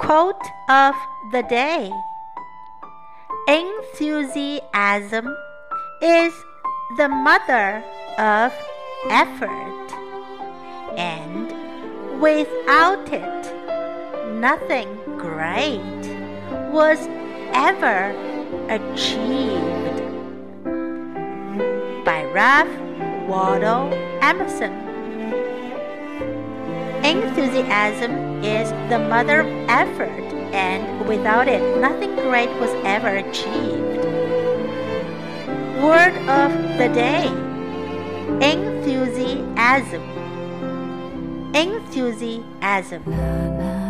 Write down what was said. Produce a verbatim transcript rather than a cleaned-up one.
Quote of the day: Enthusiasm is the mother of effort, and without it, nothing great was ever achieved. By Ralph Waldo Emerson. Enthusiasm is the mother of effort, and without it, nothing great was ever achieved. Word of the day: enthusiasm. Enthusiasm.